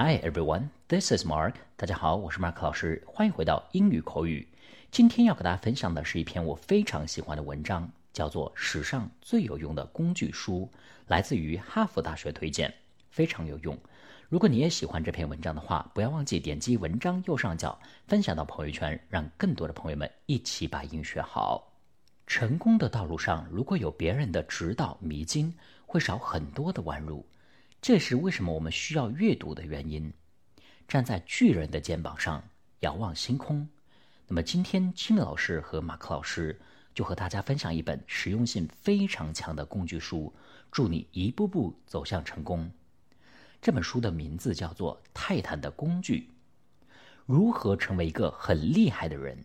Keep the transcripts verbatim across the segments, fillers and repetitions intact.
Hi everyone, this is Mark. 大家好，我是 Mark 老师，欢迎回到英语口语。今天要给大家分享的是一篇我非常喜欢的文章，叫做《史上最有用的工具书》，来自于哈佛大学推荐，非常有用。如果你也喜欢这篇文章的话，不要忘记点击文章右上角分享到朋友圈，让更多的朋友们一起把英语学好。成功的道路上，如果有别人的指导迷津，会少很多的弯路。这是为什么我们需要阅读的原因。站在巨人的肩膀上，遥望星空。那么今天金老师和马克老师就和大家分享一本实用性非常强的工具书，助你一步步走向成功。这本书的名字叫做《泰坦的工具》，如何成为一个很厉害的人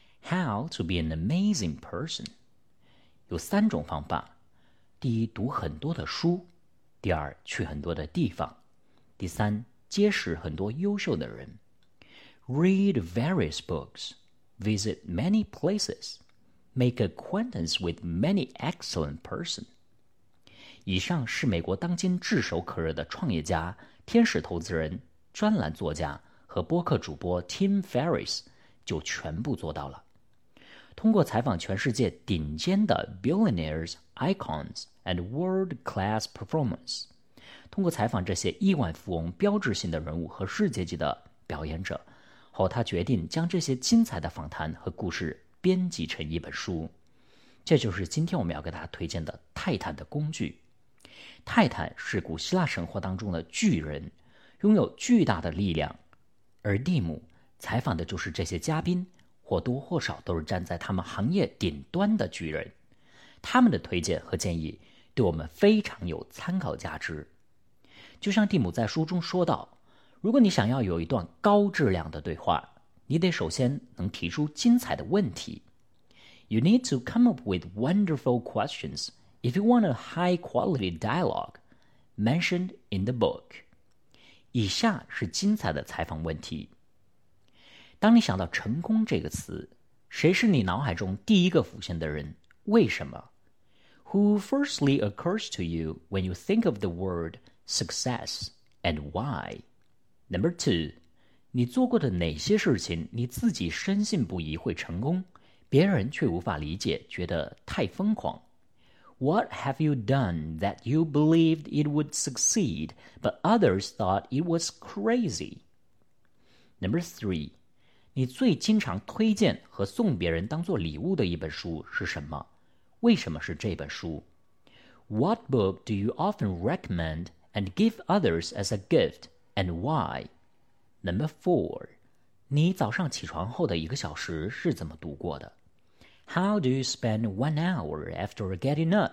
How to be an amazing person。 有三种方法。第一，读很多的书。第二，去很多的地方。第三，结识很多优秀的人。Read various books, visit many places, make acquaintance with many excellent persons。以上是美国当今炙手可热的创业家、天使投资人、专栏作家和播客主播 Tim Ferriss 就全部做到了。通过采访全世界顶尖的 billionaires, icons and world-class performance， 通过采访这些亿万富翁、标志性的人物和世界级的表演者后，他决定将这些精彩的访谈和故事编辑成一本书。这就是今天我们要给大家推荐的泰坦的工具。泰坦是古希腊神话当中的巨人，拥有巨大的力量，而蒂姆采访的就是这些嘉宾，或多或少都是站在他们行业顶端的巨人，他们的推荐和建议对我们非常有参考价值。就像蒂姆在书中说到，如果你想要有一段高质量的对话，你得首先能提出精彩的问题。You need to come up with wonderful questions if you want a high-quality dialogue mentioned in the book. 以下是精彩的采访问题。当你想到成功这个词，谁是你脑海中第一个浮现的人？为什么？ Who firstly occurs to you when you think of the word success and why? Number two, 你做过的哪些事情你自己深信不疑会成功，别人却无法理解，觉得太疯狂？ What have you done that you believed it would succeed, but others thought it was crazy? Number three, 你最经常推荐和送别人当做礼物的一本书是什么？为什么是这本书？ What book do you often recommend and give others as a gift, and why? Number four, 你早上起床后的一个小时是怎么度过的？ How do you spend one hour after getting up?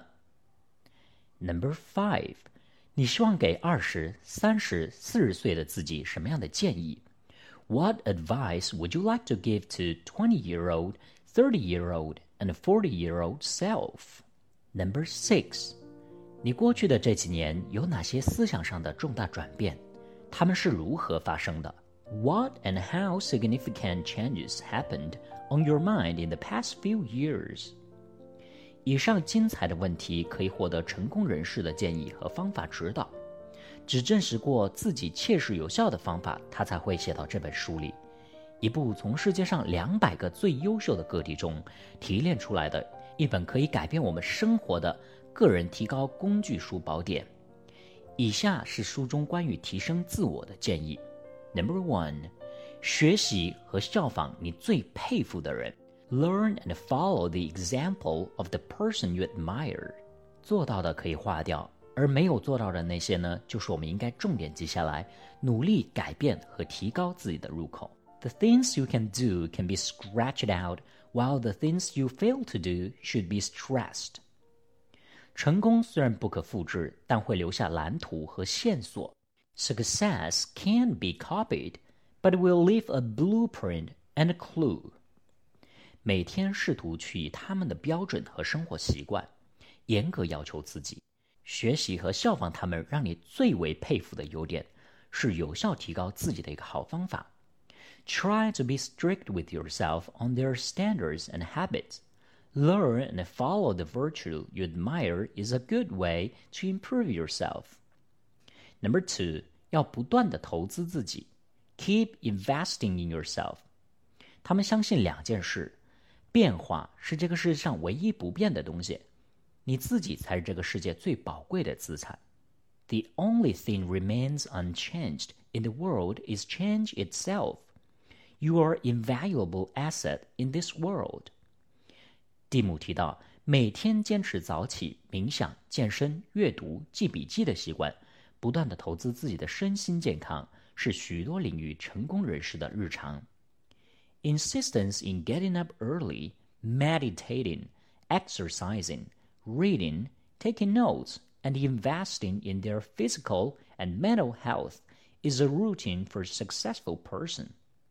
Number five, 你希望给二十、三十、四十岁的自己什么样的建议？What advice would you like to give to twenty-year-old, thirty-year-old, and forty-year-old self? Number six, 你过去的这几年有哪些思想上的重大转变？它们是如何发生的？ What and how significant changes happened on your mind in the past few years? 以上精彩的问题可以获得成功人士的建议和方法指导。只证实过自己切实有效的方法，他才会写到这本书里。一部从世界上两百个最优秀的个体中提炼出来的一本可以改变我们生活的个人提高工具书宝典。以下是书中关于提升自我的建议。Number one, 学习和效仿你最佩服的人。Learn and follow the example of the person you admire. 做到的可以划掉，而没有做到的那些呢，就是我们应该重点记下来，努力改变和提高自己的入口。The things you can do can be scratched out, while the things you fail to do should be stressed. 成功虽然不可复制，但会留下蓝图和线索。Success can't be copied, but it will leave a blueprint and a clue. 每天试图去以他们的标准和生活习惯，严格要求自己。学习和效仿他们让你最为佩服的优点，是有效提高自己的一个好方法。Try to be strict with yourself on their standards and habits. Learn and follow the virtue you admire is a good way to improve yourself. Number two, 要不断地投资自己 Keep investing in yourself。 他们相信两件事，变化是这个世界上唯一不变的东西，你自己才是这个世界最宝贵的资产。 The only thing remains unchanged in the world is change itself. You are an invaluable asset in this world. 蒂姆提到，每天坚持早起、冥想、健身、阅读、记笔记的习惯，不断地投资自己的身心健康，是许多领域成功人士的日常。Insistence in getting up early, meditating, exercising, reading, taking notes, and investing in their physical and mental health is a routine for a successful person.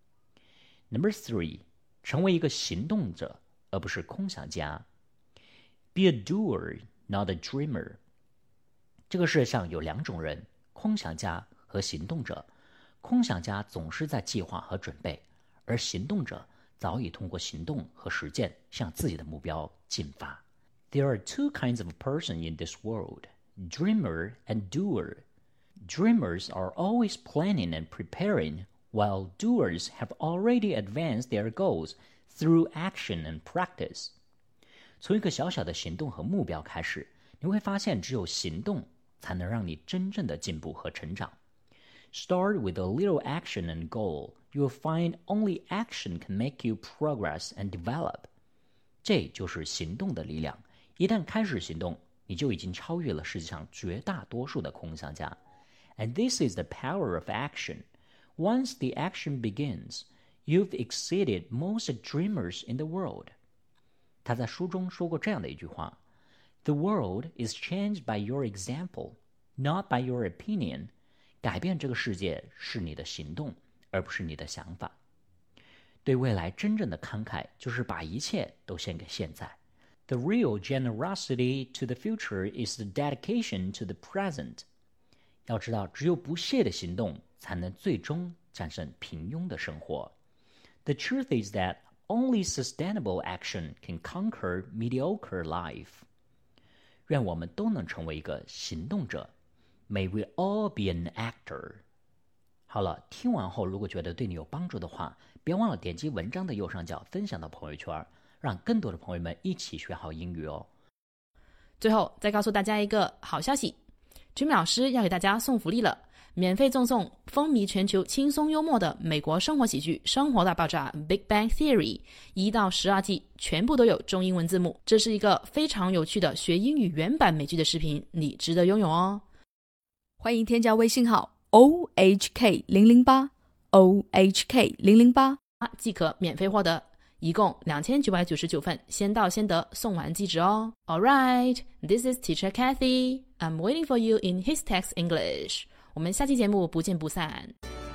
Number three, 成为一个行动者，而不是空想家。Be a doer, not a dreamer. 这个世界上有两种人，空想家和行动者。空想家总是在计划和准备，而行动者早已通过行动和实践向自己的目标进发。There are two kinds of person in this world, dreamer and doer. Dreamers are always planning and preparing, while doers have already advanced their goals through action and practice. 从一个小小的行动和目标开始，你会发现只有行动才能让你真正的进步和成长。Start with a little action and goal. You'll find only action can make you progress and develop. 这就是行动的力量。一旦开始行动，你就已经超越了世界上绝大多数的空想家。And this is the power of action. Once the action begins, you've exceeded most dreamers in the world. 他在书中说过这样的一句话 ：The world is changed by your example, not by your opinion. 改变这个世界是你的行动，而不是你的想法。对未来真正的慷慨，就是把一切都献给现在。The real generosity to the future is the dedication to the present. 要知道，只有不懈的行动，才能最终战胜平庸的生活。The truth is that only sustainable action can conquer mediocre life. 愿我们都能成为一个行动者。May we all be an actor. 好了，听完后如果觉得对你有帮助的话，别忘了点击文章的右上角分享到朋友圈，让更多的朋友们一起学好英语哦。 最后再告诉大家一个好消息， Jimmy 老师要给大家送福利了，免费赠送风靡全球轻松幽默的美国生活喜剧《生活大爆炸》 Big Bang Theory 一到十二季全部都有中英文字幕，这是一个非常有趣的学英语原版美剧的视频，你值得拥有哦。 欢迎添加微信号 O H K 零零八 O H K 零零八即可免费获得，一共两千九百九十九份，先到先得，送完即止哦。Alright, this is Teacher Kathy. I'm waiting for you in His Text English. 我们下期节目不见不散。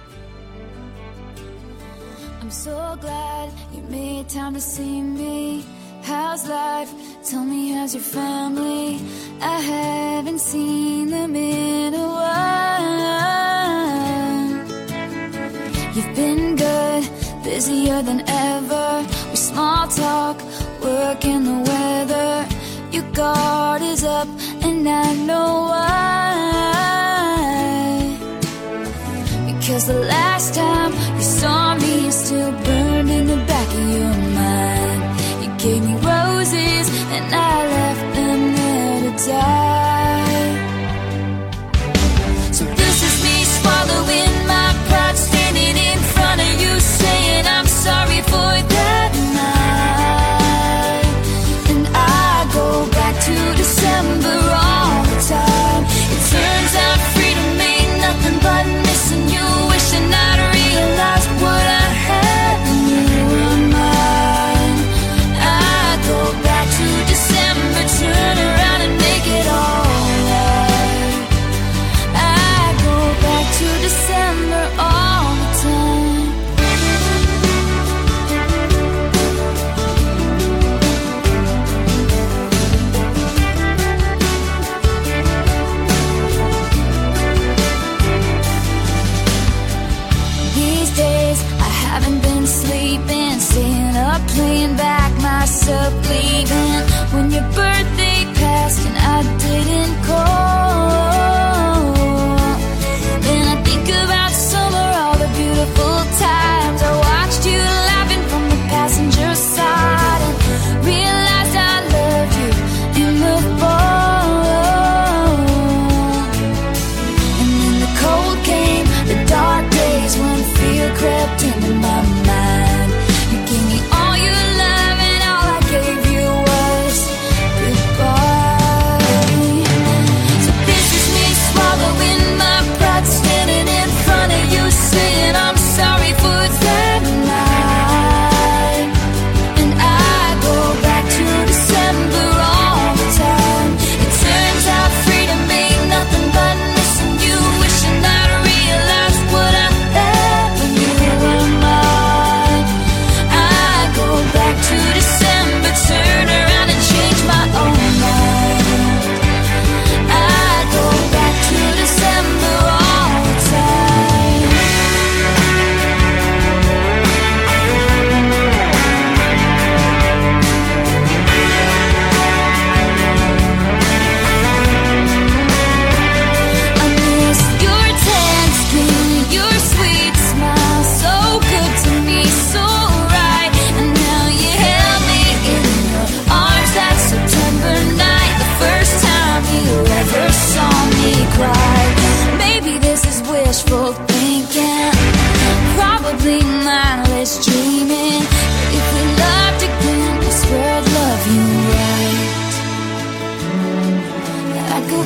I'm so glad you made time to see me. How's life? Tell me, how's your family? I haven't seen them in a while. You've been good, busier than ever. We small talk, work and the weather. Your guard is up and I know why. Because the last time you saw me is still burned in the back of your mind. You gave me roses and I left them there to die. So this is me swallowing my pride, standing in front of you saying I'm sorry for that night. And I go back to December all the time. It turns out freedom ain't nothing but missing you, wishing I'd realized what I had when you were mine. I go back to December, turn around and make it all right. I go back to December all the time. These days I haven't been sleeping, staying up playing back myself leaving. When your birthday passed and I didn't call, then I think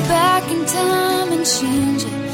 back in time and change it.